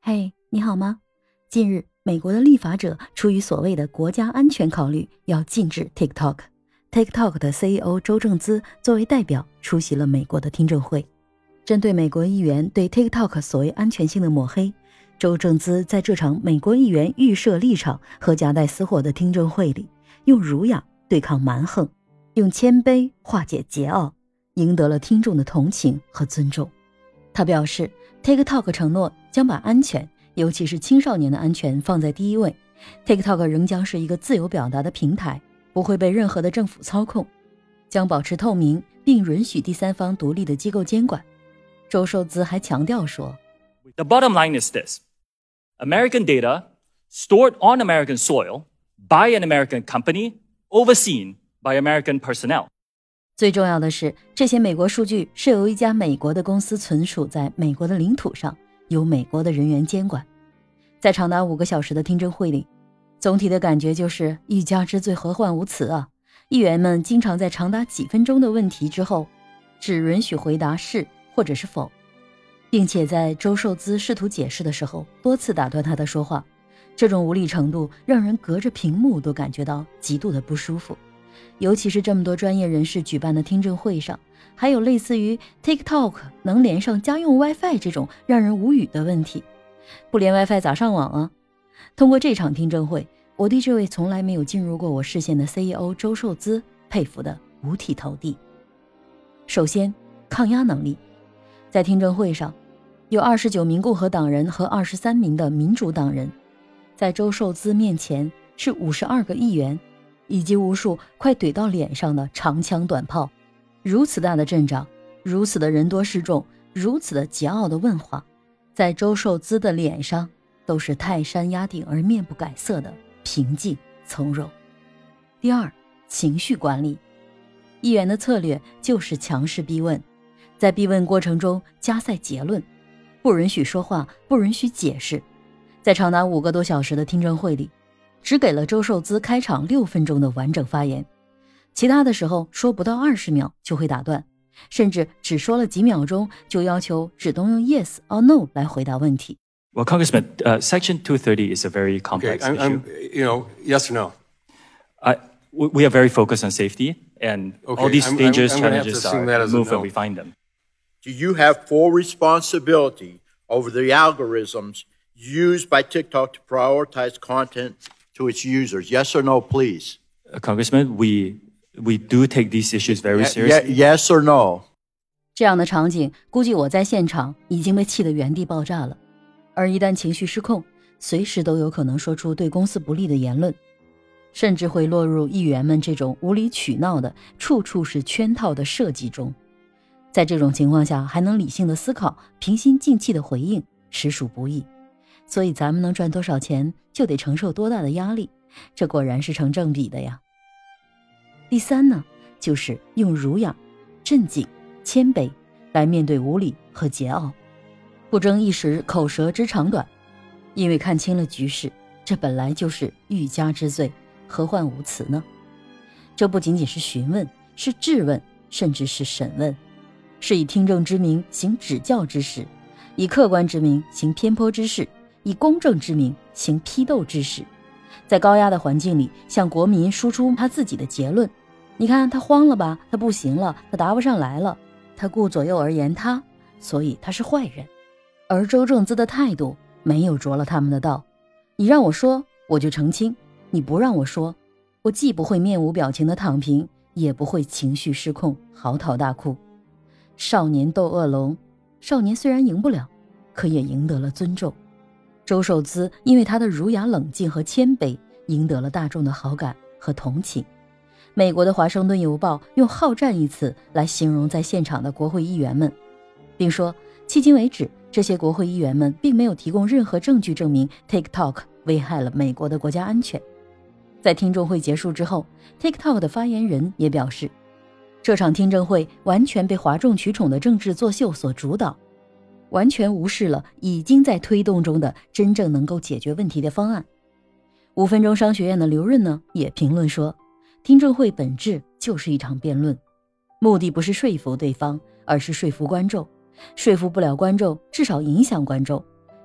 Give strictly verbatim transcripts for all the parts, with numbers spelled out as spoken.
嘿，你好吗？近日，美国的立法者出于所谓的国家安全考虑，要禁止 TikTok。TikTok 的 C E O 周正资作为代表出席了美国的听证会。针对美国议员对 TikTok 所谓安全性的抹黑，周正资在这场美国议员预设立场和夹带私货的听证会里，用儒雅对抗蛮横，用谦卑化解桀骜，赢得了听众的同情和尊重。他表示 TikTok 承诺将把安全，尤其是青少年的安全放在第一位。 TikTok 仍将是一个自由表达的平台，不会被任何的政府操控，将保持透明，并允许第三方独立的机构监管。周受资还强调说 The bottom line is this: American data stored on American soil by an American company overseen by American personnel。 最重要的是，这些美国数据是由一家美国的公司存储在美国的领土上，由美国的人员监管。在长达五个小时的听证会里，总体的感觉就是欲加之罪，何患无辞啊！议员们经常在长达几分钟的问题之后，只允许回答是或者是否，并且在周受资试图解释的时候，多次打断他的说话。这种无理程度让人隔着屏幕都感觉到极度的不舒服。尤其是这么多专业人士举办的听证会上，还有类似于 TikTok 能连上家用 WiFi 这种让人无语的问题。不连 WiFi 咋上网啊？通过这场听证会，我对这位从来没有进入过我视线的 C E O 周受资佩服得五体投地。首先，抗压能力。在听证会上，有二十九名共和党人和二十三名的民主党人，在周受资面前是五十二个议员以及无数快怼到脸上的长枪短炮。如此大的阵仗，如此的人多势众，如此的桀骜的问话，在周受资的脸上都是泰山压顶而面不改色的平静从容。第二，情绪管理。议员的策略就是强势逼问，在逼问过程中加塞结论，不允许说话，不允许解释。在长达五个多小时的听证会里，只给了周受资开场六分钟的完整发言，其他的时候说不到二十秒就会打断，甚至只说了几秒钟就要求只能用 yes or no 来回答问题。 Well, Congressman, uh, Section two thirty is a very complex okay, I'm, issue. I'm, you know, yes or no? Uh, we, we are very focused on safety, and okay, all these I'm, dangerous I'm, I'm challenges are removed when we find them. Do you have full responsibility over the algorithms used by TikTok to prioritize content to its users? Yes or no, please? Uh, Congressman, we we do take these issues very seriously. Yes or no? 这样的场景，估计我在现场已经被气得原地爆炸了。而一旦情绪失控，随时都有可能说出对公司不利的言论，甚至会落入议员们这种无理取闹的处处是圈套的设计中。在这种情况下还能理性的思考，平心静气的回应，实属不易。所以咱们能赚多少钱，就得承受多大的压力，这果然是成正比的呀。第三呢，就是用儒雅、镇静、谦卑来面对无理和桀骜，不争一时口舌之长短，因为看清了局势，这本来就是欲加之罪，何患无辞呢？这不仅仅是询问，是质问，甚至是审问，是以听证之名行指教之实，以客观之名行偏颇之事，以公正之名行批斗之实。在高压的环境里，向国民输出他自己的结论。你看他慌了吧，他不行了，他答不上来了，他顾左右而言他，所以他是坏人。而周正资的态度没有着了他们的道，你让我说我就澄清，你不让我说，我既不会面无表情的躺平，也不会情绪失控嚎啕大哭。少年斗恶龙，少年虽然赢不了，可也赢得了尊重。周受资因为他的儒雅冷静和谦卑，赢得了大众的好感和同情。美国的华盛顿邮报用好战一词来形容在现场的国会议员们，并说迄今为止，这些国会议员们并没有提供任何证据证明 TikTok 危害了美国的国家安全。在听证会结束之后， TikTok 的发言人也表示，这场听证会完全被哗众取宠的政治作秀所主导，完全无视了已经在推动中的真正能够解决问题的方案。五分钟商学院的刘润呢，也评论说，听证会本质就是一场辩论，目的不是说服对方，而是说服观众，说服不了观众，至少影响观众，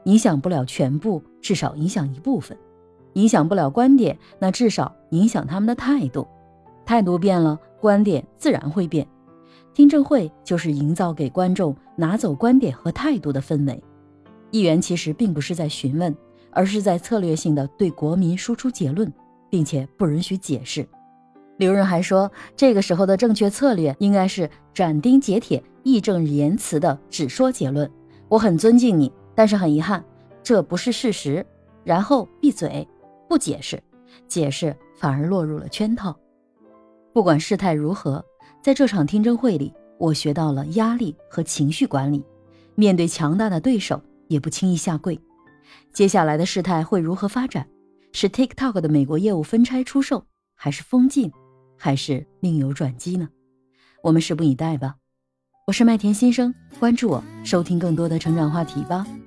影响不了全部，至少影响一部分。影响不了观点，那至少影响他们的态度。态度变了，观点自然会变。听证会就是营造给观众拿走观点和态度的氛围。议员其实并不是在询问，而是在策略性的对国民输出结论，并且不允许解释。刘润还说，这个时候的正确策略应该是斩钉截铁、义正言辞的只说结论。我很尊敬你，但是很遗憾，这不是事实。然后闭嘴，不解释，解释反而落入了圈套。不管事态如何，在这场听证会里，我学到了压力和情绪管理，面对强大的对手也不轻易下跪。接下来的事态会如何发展？是 TikTok 的美国业务分拆出售，还是封禁，还是另有转机呢？我们拭目以待吧。我是麦田新生，关注我，收听更多的成长话题吧。